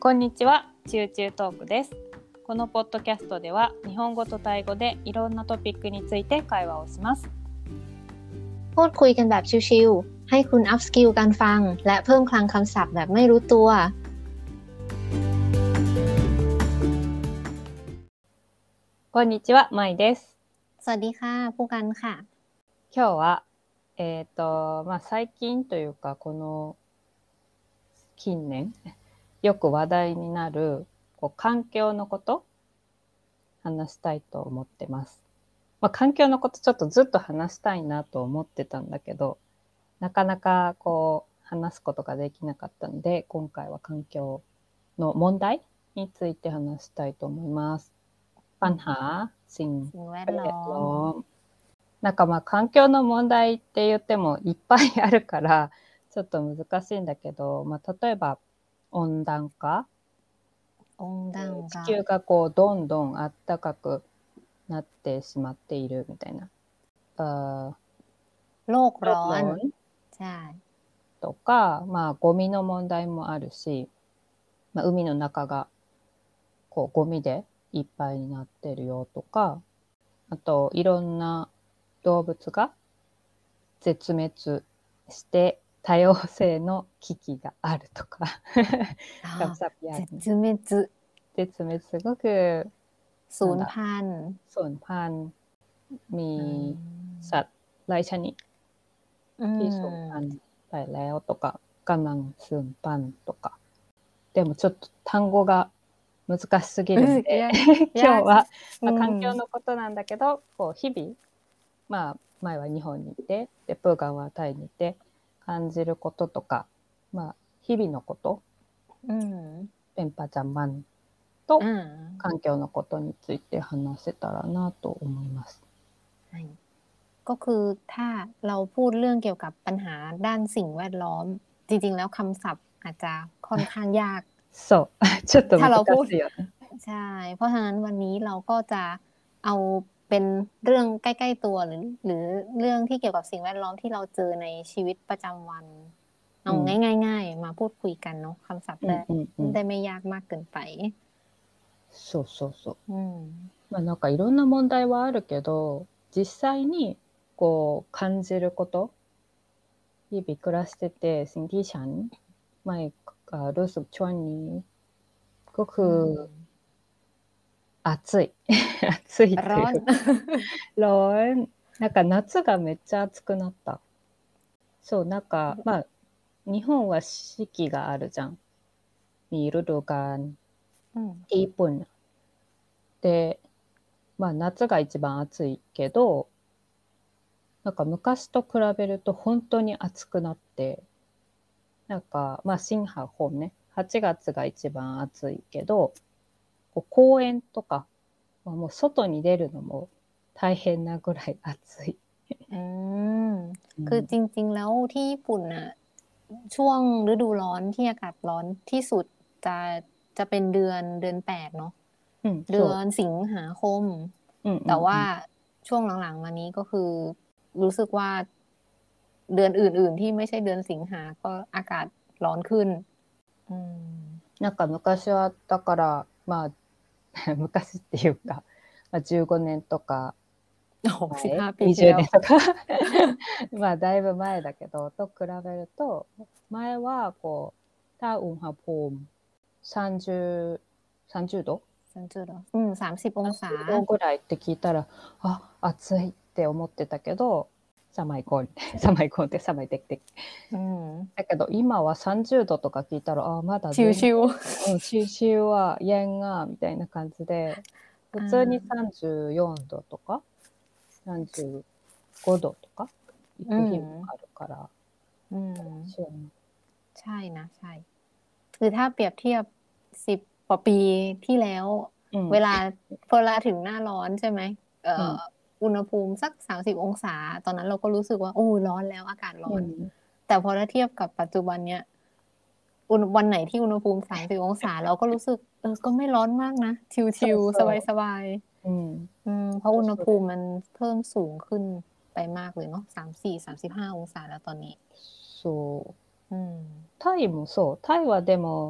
こんにちは、チューチュートークです。このポッドキャストでは日本語とタイ語でいろんなトピックについて会話をします。 พูดคุยกันแบบชิลๆให้คุณอัพสกิลการฟังและเพิ่มคลังคำศัพท์แบบไม่รู้ตัว。 こんにちは、まいです。 สวัสดีค่ะผู้กันค่ะ。 今日は最近というかこの近年よく話題になる環境のこと話したいと思ってます。環境のことちょっとずっと話したいなと思ってたんだけど、なかなか話すことができなかったので、今回は環境の問題について話したいと思います。ปัญหาสิ่งแวดล้อม。環境の問題って言ってもいっぱいあるからちょっと難しいんだけど、例えば温暖化、地球がどんどん暖かくなってしまっているみたいな。 โลกร้อนใช่とか、ゴミの問題もあるし、海の中がゴミでいっぱいになってるよとか、あといろんな動物が絶滅して多様性の危機があるとか絶滅すごくสูญพันธุ์มีสัตว์หลายชนิดที่สูญพันธุ์ไปแล้วとかกำลังสูญพันธุ์とか。でもちょっと単語が難しすぎるので今日は、環境のことなんだけど日々、前は日本にいてでプーガンはタイにいて感じることとか、日々のこと、ペンパジャンマンと環境のことについて話せたらなと思います。 ก็คือถ้าเราพูดเรื่องเกี่ยวกับปัญหาด้านสิ่งแวดล้อมจริงๆแล้วคำศัพท์อาจจะค่อนข้างยากそうちょっと難しいよね。 ใช่เพราะฉะนั้นวันนี้เราก็จะเอาเป็นเรื่องใกล้ๆตัวหรือเรื่องที่เกี่ยวกับสิ่งแวดล้อมที่เราเจอในชีวิตประจำวันเอาง่ายๆมาพูดคุยกันเนาะคำศัพท์ได้ไม่ยากมากเกินไปそうそうそう。なんかいろんな問題はあるけど実際に感じること日々暮らしててสิ่งที่ฉันไม่รู้สึกช่วงนี้ก็คือ暑い暑いっていうร้อน夏がめっちゃ暑くなった。そう日本は四季があるじゃん。มีฤดูกาลที่ญี่ปุ่นで夏が一番暑いけど昔と比べると本当に暑くなって新春本ね8月が一番暑いけど公園とかもう外に出るのも大変なぐらい暑いคือจริงๆแล้วที่ญี่ปุ่นน่ะช่วงฤดูร้อนที่อากาศร้อนที่สุดจะเป็นเดือน8เนาะเดือนสิงหาคมแต่ว่าช่วงหลังๆมานี้ก็คือรู้สึกว่าเดือนอื่นๆที่ไม่ใช่เดือนสิงหาก็อากาศร้อนขึ้น昔はだから昔っていうか、15年とか 15ปี 20年とかだいぶ前だけどと比べると前はถ้าอุณหภูมิ30度 30องศา 30度ぐらいって聞いたら暑いって思ってたけど寒いコンって寒いできてだけど今は30度とか聞いたらまだชิวはyenがみたいな感じで普通に34度とか35度とか行く日もあるからใช่นะใช่คือถ้าเปรียบเทียบ10กว่าปีที่แล้วเวลาถึงหน้าร้อนใช่ไหมอุณหภูมิสัก30องศาตอนนั้นเราก็รู้สึกว่าร้อนแล้วอากาศร้อนแต่พอถ้าเทียบกับปัจจุบันเนี้ยวันไหนที่อุณหภูมิ30องศาเราก็รู้สึกก็ไม่ร้อนมากนะชิลๆสบายๆเพราะอุณหภูมิมันเพิ่มสูงขึ้นไปมากเลยเนาะ34-35องศาแล้วตอนนี้そうタイもそうタイはでも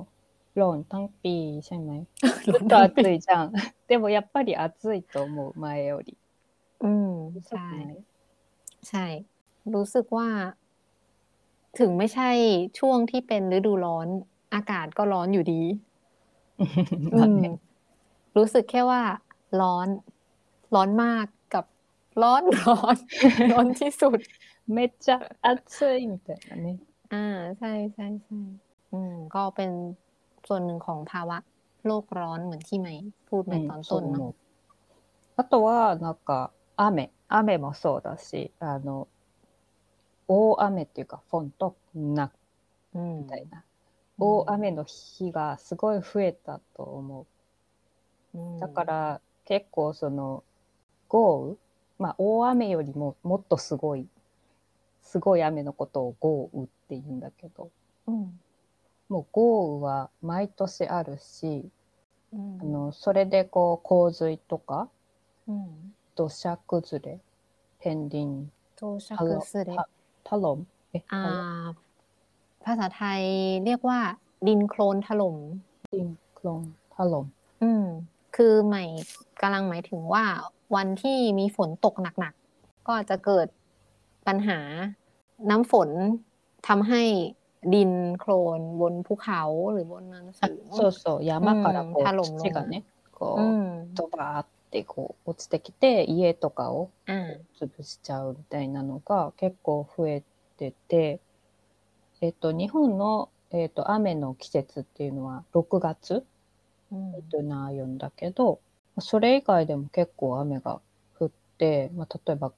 ร้อนทั้งปีใช่ไหมずっと暑いじゃんでもやっぱり暑いと思う前よりรู้สึกใช่ไหมใช่ รู้สึกว่า ถึงไม่ใช่ช่วงที่เป็นฤดูร้อน อากาศก็ร้อนอยู่ดี อืมまあねรู้สึกแค่ว่า ร้อน ร้อนมากกับร้อนร้อน ร้อนที่สุดめっちゃ暑いみたいなねอ่าใช่ใช่ใช่ก็เป็นส่วนหนึ่งของภาวะโลกร้อนเหมือนที่ไหมพูดในตอนต้นเนาะそう思うあとはなんか雨もそうだし大雨っていうかフォントなみたいな大雨の日がすごい増えたと思うだから結構その豪雨まあ大雨よりももっとすごい雨のことを豪雨って言うんだけど、もう豪雨は毎年あるし、それでこう洪水とか、土砂崩れ、片鱗、 土砂崩れถล่มภาษาไทยเรียกว่า ดินโคลนถล่มดินโคลนถล่มคือใหม่กำลังหมายถึงว่า วันที่มีฝนตกหนักๆก็จะเกิดปัญหาน้ำฝนทำให้ดินโคลนบนภูเขาหรือบนเนินสูงそうそう山からこうถล่มลง土がねこうドバーってこう落ちてきて家とかを潰しちゃうみたいなのが結構増えてて、日本の、雨の季節っていうのは6月な言うんだけど、それ以外でも結構雨が降って、まあ、例えば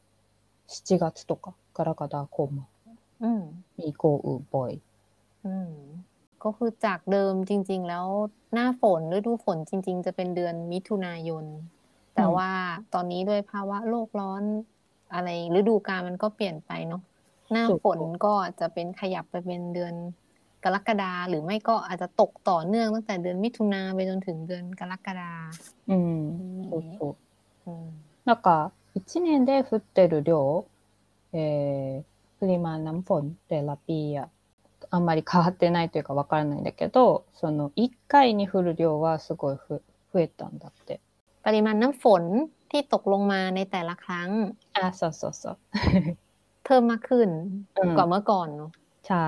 7月とかกรกฎาคมมี豪雨บ่อยก็คือจากเดิมจริงๆแล้วหน้าฝนฤดูฝนจริงๆจะเป็นเดือนมิถุนายนแต่ว่าตอนนี้ด้วยภาวะโลกร้อนอะไรฤดูกาลมันก็เปลี่ยนไปเนาะหน้าฝนก็จะเป็นขยับไปเป็นเดือนกรกฎาหรือไม่ก็อาจจะตกต่อเนื่องตั้งแต่เดือนมิถุนาไปจนถึงเดือนกรกฎาそうそうなんか1年で降ってる量、プリマน้ำฝนแต่ละปีอะあんまり変わってないというかわからないんだけど、その1回に降る量はすごい増えたんだって。 ปริมาณน้ำฝนที่ตกลงมาในแต่ละครั้งそうそうそうเพิ่มมากขึ้นกว่าเมื่อก่อนเนาะใช่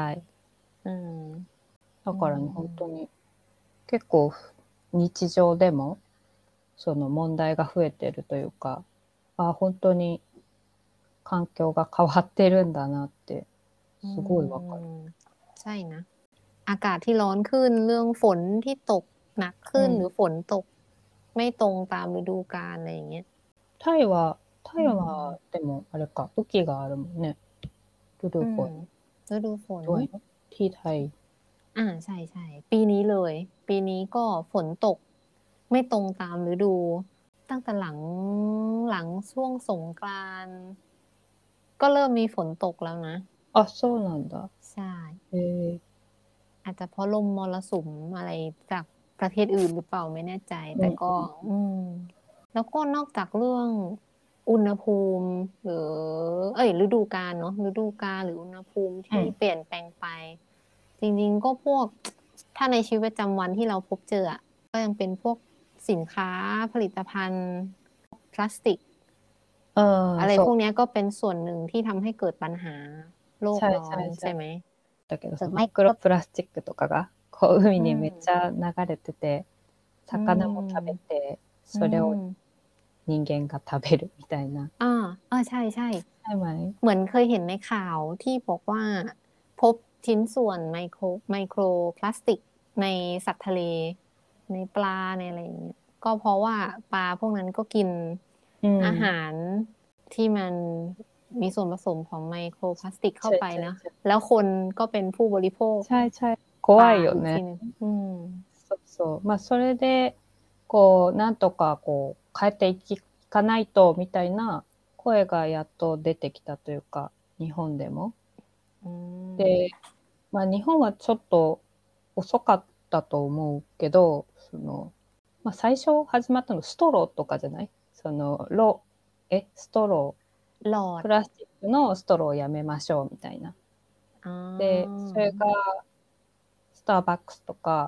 だからね本当に結構日常でもその問題が増えてるというか、本当に環境が変わってるんだなってすごいわかる。 ใช่นะอากาศที่ร้อนขึ้นเรื่องฝนที่ตกหนักขึ้นหรือฝนตกไม่ตรงตามฤดูกาลอะไรอย่างเงี้ยタイはでもあれか雨季があるもんねฤดูฝนฤดูฝนด้วยที่ไทยใช่ใช่ปีนี้เลยปีนี้ก็ฝนตกไม่ตรงตามฤดูตั้งแต่หลังช่วงสงกรานต์ก็เริ่มมีฝนตกแล้วนะそうなんだใช่อาจจะเพราะลมมรสุมอะไรจากประเทศอื่นหรือเปล่าไม่แน่ใจแต่ก็แล้วก็นอกจากเรื่องอุณหภูมิหรือฤดูกาลเนาะฤดูกาลหรืออุณหภูมิที่เปลี่ยนแปลงไปจริงๆก็พวกถ้าในชีวิตประจำวันที่เราพบเจอก็ยังเป็นพวกสินค้าผลิตภัณฑ์พลาสติกอะไรพวกนี้ก็เป็นส่วนหนึ่งที่ทำให้เกิดปัญหาโลกร้อนใช่ไหมだけどマイクロプラスチックとかがこう海にめっちゃ流れてて、魚も食べてそれを人間が食べるみたいなใช่ใช่ไหมเหมือนเคยเห็นในข่าวที่บอกว่าพบชิ้นส่วนไมโครพลาสติกในสัตว์ทะเลในปลาในอะไรอย่างเงี้ยก็เพราะว่าปลาพวกนั้นก็กินอาหารที่มันมีส่วนผสมของไมโครพลาสติกเข้าไปนะแล้วคนก็เป็นผู้บริโภคใช่ใช่怖いよねそうまあそれでこうなんとかこう変えていかないとみたいな声がやっと出てきたというか日本でもで、まあ、日本はちょっと遅かったと思うけどまあ、最初始まったのストローとかじゃないストロープラスチックのストローをやめましょうみたいなでそれがスターバックスとかス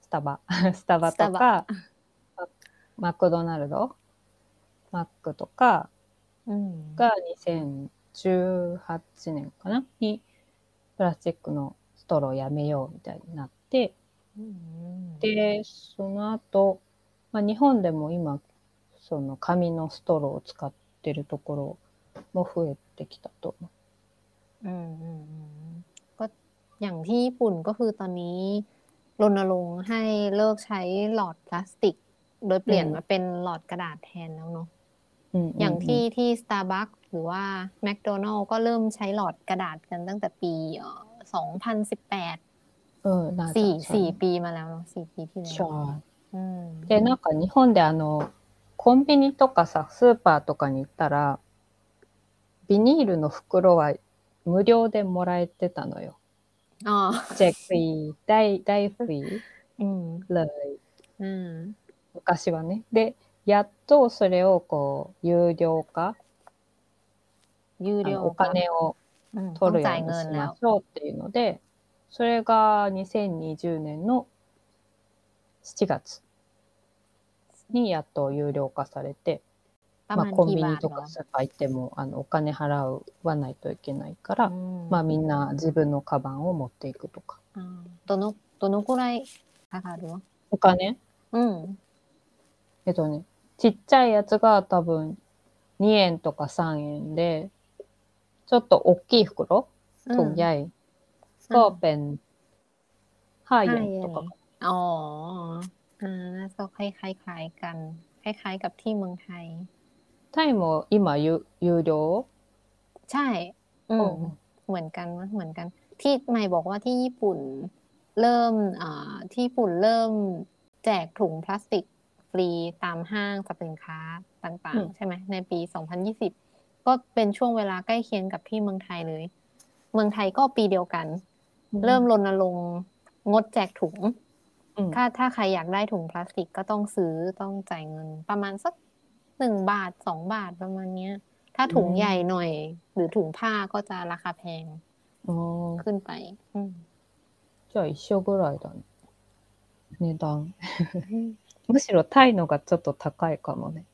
タバスタバとかマクドナルドマックとかが2018年かなにプラスチックのストローやめようみたいになって、でその後、日本でも今その紙のストローを使ってるところも増えてきたと思う。 ก็อย่างที่ญี่ปุ่นก็คือตอนนี้รณรงค์ให้เลิกใช้หลอดพลาสติกโดยเปลี่ยนมาเป็นหลอดกระดาษแทนแล้วเนาะอย่างที่ Starbucks หรือว่า McDonald's ก็เริ่มใช้หลอดกระดาษกันตั้งแต่ปี20184ปีมาแล้วเนาะ4ปีที่แล้วでなんか日本でコンビニとかさスーパーとかに行ったらビニールの袋は無料でもらえてたのよ。チェックフリー、大フリーเลย。昔はね。で、やっとそれをこう有料化、お金を取るようにしましょうっていうので、それが2020年の7月にやっと有料化されて、コンビニとかスーパー行ってもお金払わないといけないから、みんな自分のカバンを持っていくとか。 どのくらいかかるの？ お金？ちっちゃいやつが多分2円とか3円で、ちょっと大きい袋、ถุงใหญ่ก็เป็น5円とか。 ก็คล้ายๆกันคล้ายๆกับที่เมืองไทยタイも今有料ใช่เหมือนกันเหมือนกันที่ไม่บอกว่าที่ญี่ปุ่นเริ่มแจกถุงพลาสติกฟรีตามห้างสรรพสินค้าต่างๆใช่ไหมในปี2020ก็เป็นช่วงเวลาใกล้เคียงกับที่เมืองไทยเลยเมืองไทยก็ปีเดียวกันเริ่มรณรงค์งดแจกถุงถ้าใครอยากได้ถุงพลาสติกก็ต้องซื้อต้องจ่ายเงินประมาณสัก1 บาท2 บาทประมาณนี้ถ้าถุงใหญ่หน่อยหรือถุงผ้าก็จะราคาแพงขึ้นไปじゃあ一緒ぐらいだね値段むしろタイのがちょっと高いかもね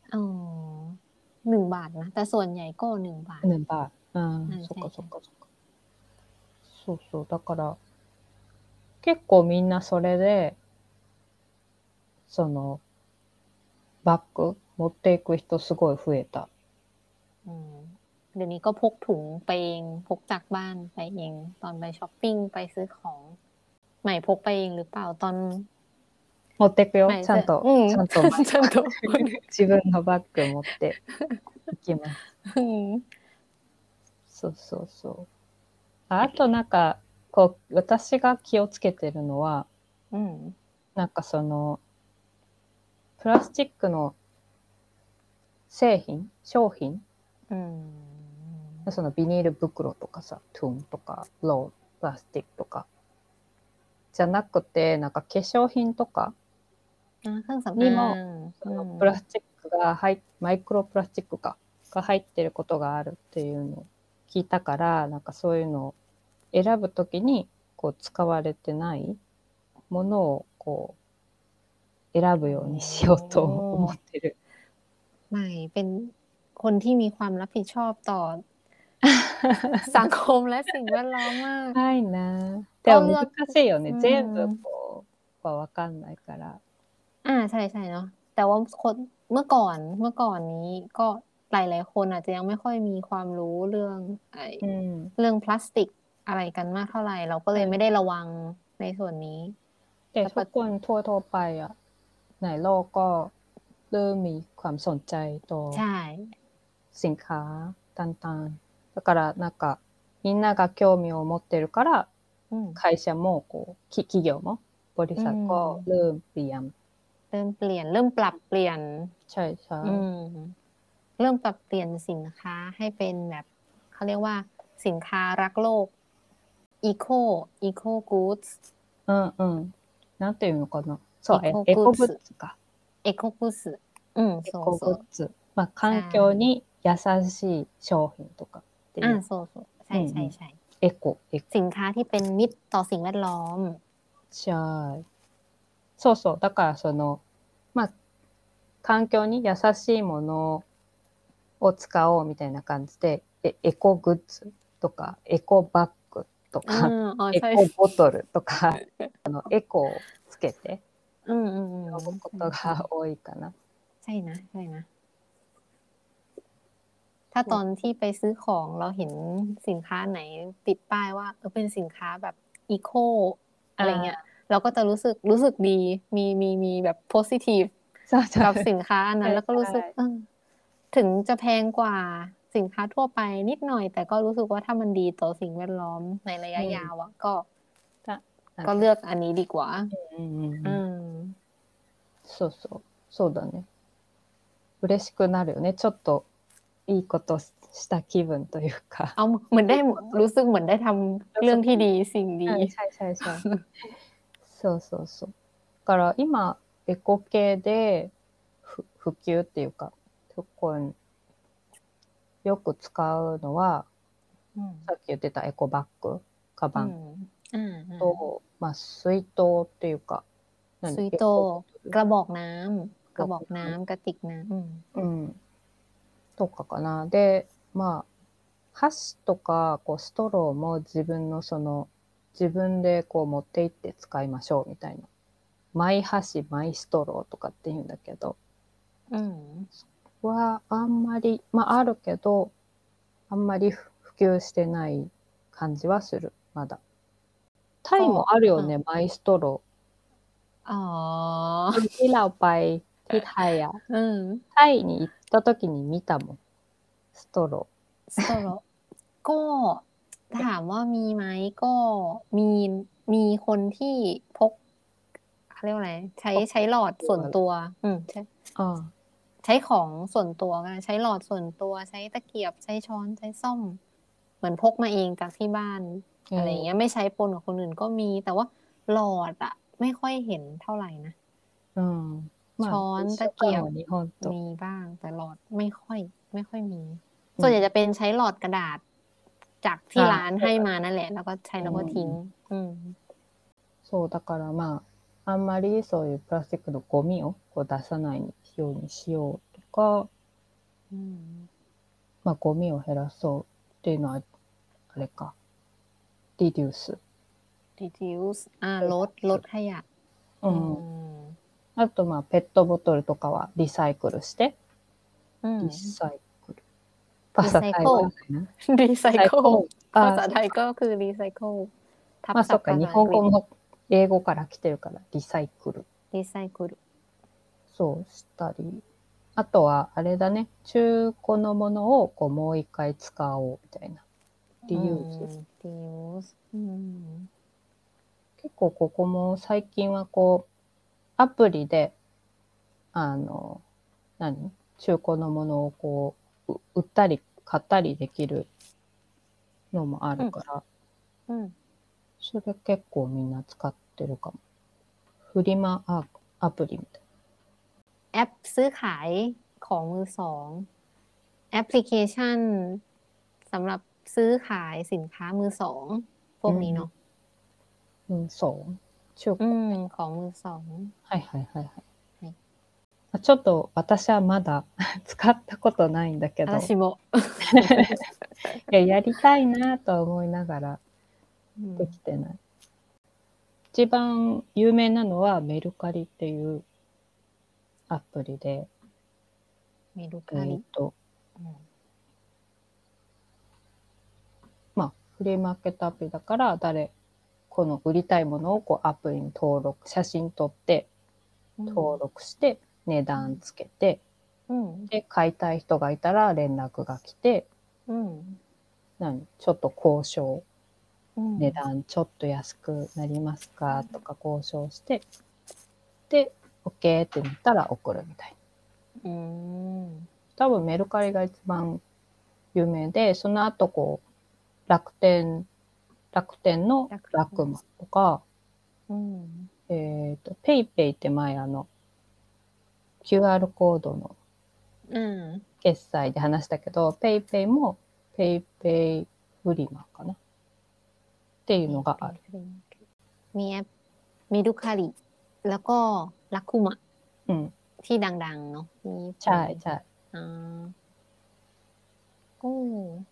1 บาทนะแต่ส่วนใหญ่ก็1 บาท 1 บาทそっかそっかそっかそうだから結構みんなそれでそのバッグ持っていく人すごい増えたเดี๋ยวนี้ก็พกถุงไปเองพกจากบ้านไปเองตอนไปช้อปปิ้งไปซื้อของใหม่พกไปเองหรือเปล่าตอน持ってくよちゃんと自分のバッグ持っていきますそうあとなんかこう私が気をつけてるのはなんかそのプラスチックの商品そのビニール袋とかさトゥンとかロープラスチックとかじゃなくてなんか化粧品とかにもそのプラスチックがマイクロプラスチックが入ってることがあるっていうのを聞いたからなんかそういうのを選ぶときにこう使われてないものをこう選ぶようにしようと思ってる。 ไม่เป็นคนที่มีความรับผิดชอบต่อสังคมและสิ่งแวดล้อมมากはいな。でも難しいよね。全部こうは分かんないから。 ใช่ๆเนาะแต่ว่าคนเมื่อก่อนนี้ก็หลายๆคนอาจจะยังไม่ค่อยมีความรู้เรื่องพลาสติกอะไรกันมากเท่าไหร่เราก็เลยไม่ได้ระวังในส่วนนี้แต่ทุกคนทั่วไปอ่ะในโลกก็เริ่มมีความสนใจต่อสินค้าต่างๆだからなんかみんなが興味を持ってるから会社もこう企業もบริษัทก็เริ่มเปลี่ยนเริ่มปรับเปลี่ยนใช่เริ่มปรับเปลี่ยนสินค้าให้เป็นแบบเขาเรียกว่าสินค้ารักโลกeco goods なんていうのかなそうエコグッズかエコグッズエコグッズ環境に優しい商品とかっていうそうใช่エコสินค้าที่เป็นมิตรต่อสิ่งแวดล้อมใช่そうそう。だからまあ、環境に優しいものを使おうみたいな感じで、エコグッズとか、エコバッグとอืか、 มอ๋อエใช่コボトルとか、エコをつけてอืม呼ぶこใช่とが多いかな。 ใช่นะใช่นะถ้าตอนที่ไปซื้อของเราเห็นสินค้าไหนติดป้ายว่าเป็นสินค้าแบบอีโคอะไรเงี้ยเราก็จะรู้สึกดีมีแบบโพซิทีฟกับสินค้าอันนั้นแล้วก็รู้สึกถึงจะแพงกว่าสินค้าทั่วไปนิดหน่อยแต่ก็รู้สึกว่าถ้ามันดีต่อสิ่งแวดล้อมในระยะยาวอ่ะก็เลือกอันนี้ดีกว่าそうそう。そうだね。嬉しくなるよね。ちょっといいことした気分というか。 เอาเหมือนได้รู้สึกเหมือนได้ทำเรื่องที่ดีสิ่งดีใช่ใช่ใช่そうそうそう。だから今、エコ系で普及っていうか、そこによく使うのは、さっき言ってたエコバッグ、カバンと、まあ、水筒っていうか、 水筒กระบอกน้ำกระติกน้ำとかかな。で、まあ、箸とかストローも自分で持って行って使いましょうみたいな。マイ箸、マイストローとかって言うんだけど、はあんまり、まああるけど、あんまり普及してない感じはする、まだ。タイもあるよね、マイストロー。ที่เราไปที่ไทยอ่ะタイに行った時に見たもん、ストロー。ก็ถามว่ามีไหมก็มีคนที่พกเขาเรียกว่าอะไรใช้หลอดส่วนตัวใช้ของส่วนตัวก็ใช้หลอดส่วนตัวใช้ตะเกียบใช้ช้อนใช้ส้อมเหมือนพกมาเองจากที่บ้านอะไรเงี้ยไม่ใช้ปนกับคนอื่นก็มีแต่ว่าหลอดอะไม่ค่อยเห็นเท่าไหร่นะช้อนตะเกียบมีบ้างแต่หลอดไม่ค่อยมีส่วนใหญ่จะเป็นใช้หลอดกระดาษจากที่ร้านให้มานั่นแหละแล้วก็ใช้แล้วก็ทิ้งそうだからまああんまりそういうプラスチックのゴミを出さないようにしようとか、まあゴミを減らそうっていうのはあれか、リデュースลดขยะあとまあペットボトルとかはリサイクルして、リサイクルภาษาไทยว่าอะไรนะรีไซเคิลภาษาไทยก็คือรีไซเคิลまあそっか、日本語も英語から来てるからリサイクルそうしたり、あとはあれだね、中古のものをもう一回使おうみたいなリユース結構ここも最近はアプリで中古のものを売ったり買ったりできるのもあるから、それ結構みんな使ってるかも。フリマアプリみたいな。แอปซื้อขายของมือสองแอปพลิเคชันสำหรับซื้อขายสินค้ามือสองพวกนี้เนาะมือสอง中古ของมือสองはいはいはいはい。ちょっと私はまだ使ったことないんだけど。 私も。 やりたいなと思いながらできてない。一番有名なのはメルカリっていうアプリで。 メルカリ。 まあ、フリーマーケットアプリだからこの売りたいものをアプリに写真撮って登録して、値段つけて、で買いたい人がいたら連絡が来て、ちょっと交渉、値段ちょっと安くなりますかとか交渉して、で OK ってなったら送るみたいな。多分メルカリが一番有名で、その後楽天のラクマとか、ペイペイって前QR コードの決済で話したけど、ペイペイもペイペイフリマかなっていうのがある。 มีแอปメルカリแล้วก็ลักคุมะอืมที่ดังๆเนาะที่ญี่ปุ่นใช่ใช่อ่าโอ้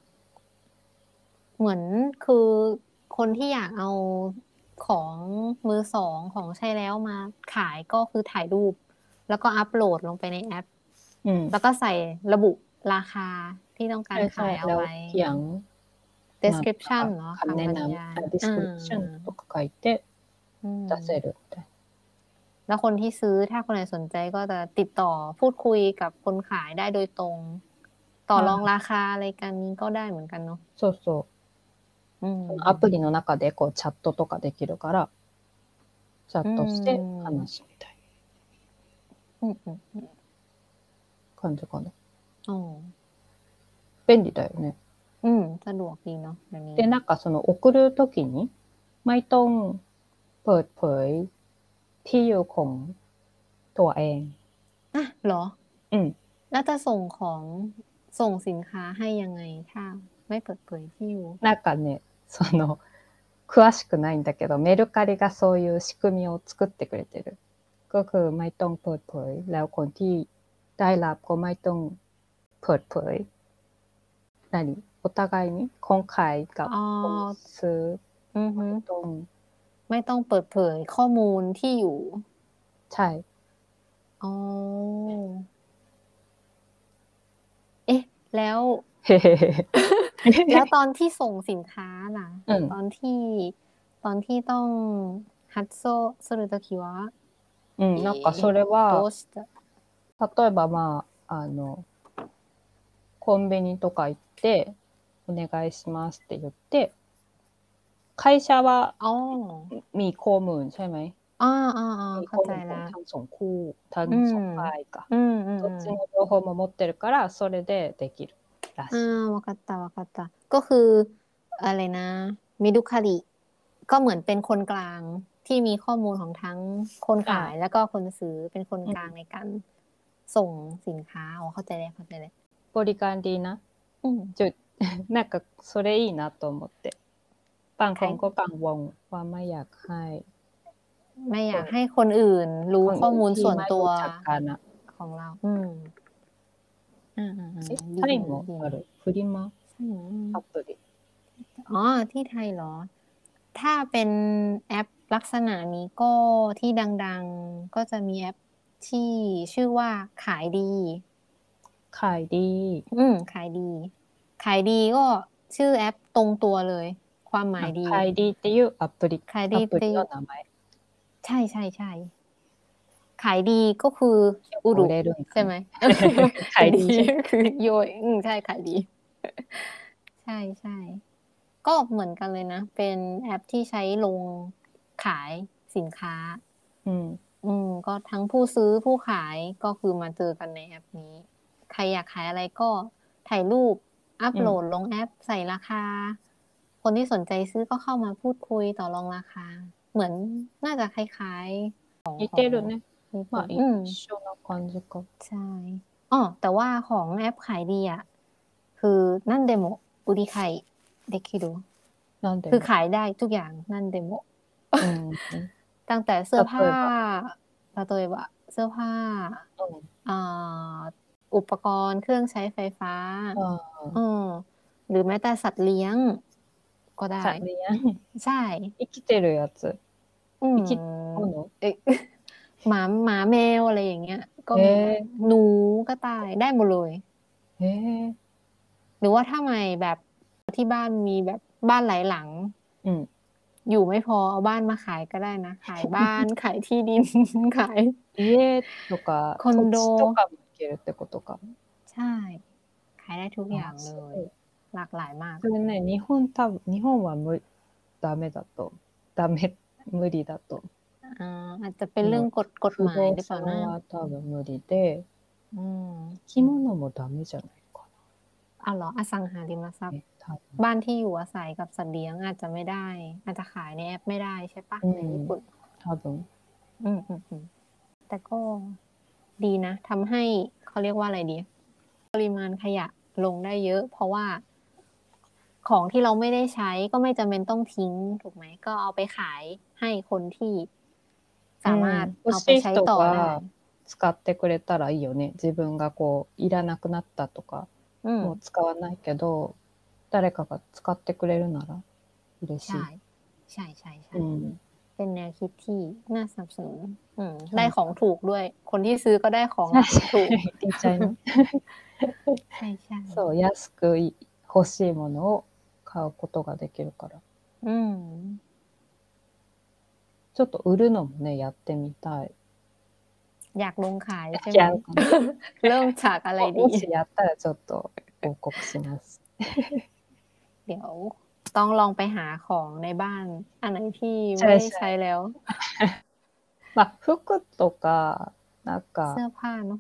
เหมือนคือคนที่อยากเอาของมือสองของใช้แล้วมาขายก็คือถ่ายรูป แล้วก็อัปโหลดลงไปในแอปอืมแล้วก็ใส่ระบุราคาที่ต้องการใช่ใช่แล้วขายเอาไว้เขียนなんか description เหรอคำแนะคำบรรนยายำdescription とか書いてอืม出せるみたいなแล้วคนที่ซื้อถ้าคนไหนสนใจก็จะติดต่อพูดคุยกับคนขายได้โดยตรง ต่อรองราคาอะไรกันนี้ก็ได้เหมือนกันเนาะそうそう。 อืมそのアプリの中でこうチャットとかできるから、チャットして話すみたいうんうんうんな感じかな。 อ๋อ便利だよね。 อืมสะดวกดีเนาะเดี๋ยวนี้で、なんかその送るときにไม่ต้องเปิดเผยที่อยู่ของตัวเองอ่ะเหรออืมแล้วจะส่งสินค้าให้ยังไงถ้าไม่เปิดเผยที่อยู่なんかね、詳しくないんだけど、メルカリがそういう仕組みを作ってくれてる。ก็คือไม่ต้องเปิดเผยแล้วคนที่ได้รับก็ไม่ต้องเปิดเผยお互いにคนขายกับคนซื้อไม่ต้องเปิดเผยข้อมูลที่อยู่ใช่อ๋อเอ๊ะแล้ว แล้วตอนที่ส่งสินค้าล่ะตอนที่ต้องฮัตโซするときはなんかそれはどうした例えばコンビニとか行ってお願いしますって言って会社はมีข้อมูลใช่ไหมมีเข้าใจแล้วทั้งสองคู่ทั้งสองฝ่ายかどっちの情報も持ってるからそれでできるらしいわかったわかったก็คืออะไรนะมิดุคาริก็เหมือนเป็นคนกลางที่มีข้อมูลของทั้งคนขายแล้วก็คนซื้อเป็นคนกลางในการส่งสินค้าเข้าใจแล้วเข้าใจแล้วบริการดีนะなんかそれいいなと思ってบางคนก็กังวลว่าไม่อยากให้คนอื่นรู้ข้อมูลส่วนตัวของเราไทยもあるフリマアプリที่ไทยเหรอถ้าเป็นแอปลักษณะนี้ก็ที่ดังๆก็จะมีแอปที่ชื่อว่าขายดีขายดีขายดีก็ชื่อแอปตรงตัวเลยความหมายดีขายดีっていうアプリの名前ใช่ใช่ใช่ขายดีก็คืออุรุใช่ไหมขายดีคือโยยใช่ขายดีใช่ใช่ก็เหมือนกันเลยนะเป็นแอปที่ใช้ลงขายสินค้าก็ทั้งผู้ซื้อผู้ขายก็คือมาเจอกันในแอปนี้ใครอยากขายอะไรก็ถ่ายรูปอัปโหลดลงแอปใส่ราคาคนที่สนใจซื้อก็เข้ามาพูดคุยต่อรองราคาเหมือนน่าจะคล้ายๆของ似てるねまあ一緒な感じかใช่แต่ว่าของแอปขายดีอ่ะคือนั่นเดโมอุริไคเดคิรุคือขายได้ทุกอย่างนั่นเดโมตั้งแต่เสื้อผ้า例えばเสื้อผ้าอุปกรณ์เครื่องใช้ไฟฟ้าหรือแม้แต่สัตว์เลี้ยงก็ได้สัตว์เลี้ยงใช่生きてるやつ生き物หมาแมวอะไรอย่างเงี้ยก็มีหนูกระต่ายได้หมดเลยหรือว่าถ้าไม่แบบที่บ้านมีแบบบ้านหลายหลังอยู่ไม่พอเอาบ้านมาขายก็ได้นะขายบ้านขายที่ดินขาย家とかคอนโด土地とかもいけるってことかใช่ขายได้ทุกอย่างเลยหลากหลายมากそれね日本はダメだと無理だとอาจจะเป็นเรื่องกฎหมายหรือเปล่านะ多分無理で生き物もダメじゃないかなเหรออสังหาริมทรัพย์บ้านที่อยู่อาศัยกับสัตว์เลี้ยงอาจจะไม่ได้อาจจะขายในแอปไม่ได้ใช่ปะในญี่ปุ่น多分แต่ก็ดีนะทำให้เขาเรียกว่าอะไรดีปริมาณขยะลงได้เยอะเพราะว่าของที่เราไม่ได้ใช้ก็ไม่จำเป็นต้องทิ้งถูกไหมก็เอาไปขายให้คนที่สามารถ欲เอาしไปいใช้人ต่อได้が使ってくれたらいいよね。自分がこういらなくなったとか、もう使わないけど誰かが使ってくれるなら嬉しい。 ใช่เป็นแนวคิดที่น่าสนับสนุนได้ใช่ของถูกด้วย คนที่ซื้อก็ได้ของใช่ราคาถูกดีใจね。 ใช่そう安く欲しいものを買うことができるから。ちょっと売るのもねやってみたい。 อยากลงขายใช่ไหมเริ่มจากอะไรดีもしやったらちょっと報告します。 เดี๋ยวต้องลองไปหาของในบ้านอันไหนที่ไม่ได้ใช้แล้วまあ服とかなんかเสื้อผ้าเนาะ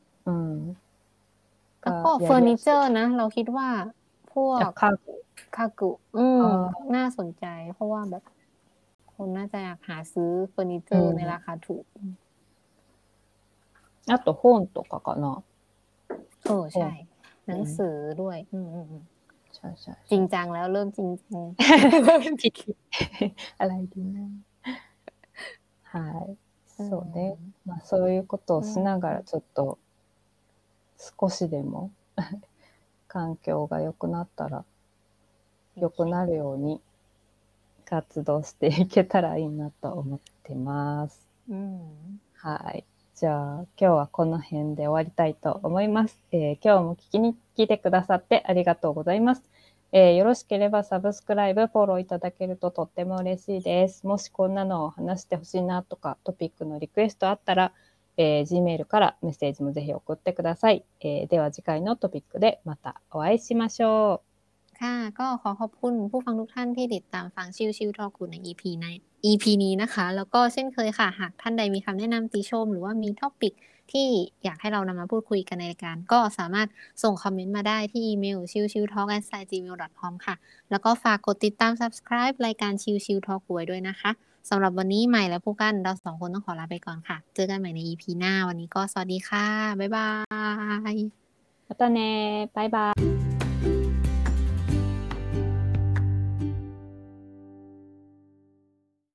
แล้วก็がเฟอร์นิเจอร์นะเราคิดว่าพวกคากุน่าสนใจเพราะว่าแบบคนน่าจะอยากหาซื้อเฟอร์นิเจอร์ในราคาถูกあと本とかかなใช่หนังสือด้วยใช่ใช่จริงจังแล้วเริ่มจริงจังอะไรดีนะはいそうねまあそういうことをしながらちょっと少しでも環境が良くなったら良くなるように活動していけたらいいなと思ってます。はい。じゃあ今日はこの辺で終わりたいと思います。今日も聞いてくださってありがとうございます。よろしければサブスクライブ、フォローいただけるととっても嬉しいです。もしこんなのを話してほしいなとかトピックのリクエストあったら、Gmail からメッセージもぜひ送ってください。では次回のトピックでまたお会いしましょう。 ค่ะก็ขอขอบคุณผู้ฟังทุกท่านที่ติดตามฟังชิวๆทอล์กใน EP นี้นะคะแล้วก็เช่นเคยค่ะหากท่านใดมีคำแนะนำติชมหรือว่ามีท็อปิกที่อยากให้เรานำมาพูดคุยกันในรายการก็สามารถส่งคอมเมนต์มาได้ที่อีเมล chiwchiwtalk@gmail.com ค่ะแล้วก็ฝากกดติดตาม subscribe รายการชิวๆทอล์กไว้ด้วยนะคะสำหรับวันนี้ใหม่และผู้กันเราสองคนต้องขอลาไปก่อนค่ะเจอกันใหม่ใน EP หน้าวันนี้ก็สวัสดีค่ะบ๊ายบายまたねバイバイ